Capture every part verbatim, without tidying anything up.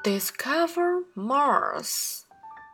Discover Mars.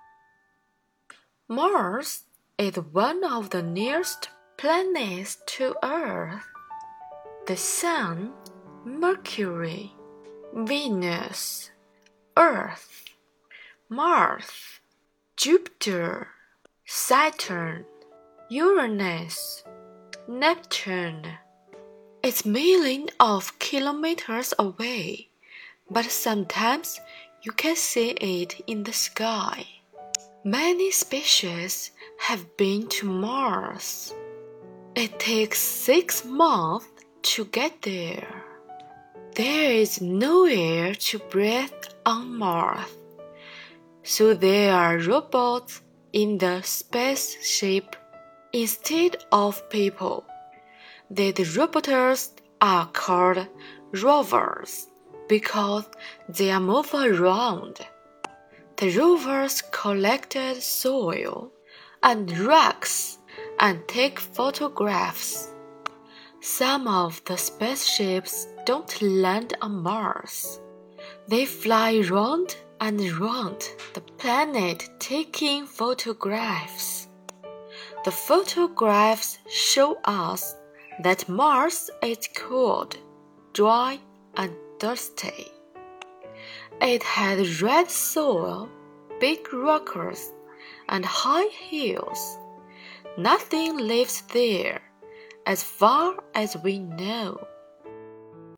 Mars is one of the nearest planets to Earth. The Sun, Mercury, Venus, Earth, Mars, Jupiter, Saturn, Uranus, Neptune. It's millions of kilometers away, but sometimes you can see it in the sky. Many species have been to Mars. It takes six months to get there. There is no air to breathe on Mars, so there are robots in the spaceship instead of people. These robots are called rovers because they move around. The rovers collected soil and rocks and take photographs. Some of the spaceships don't land on Mars. They fly round and round the planet taking photographs. The photographs show us that Mars is cold, dry, and dusty. It has red soil, big rocks, and high hills. Nothing lives there, as far as we know.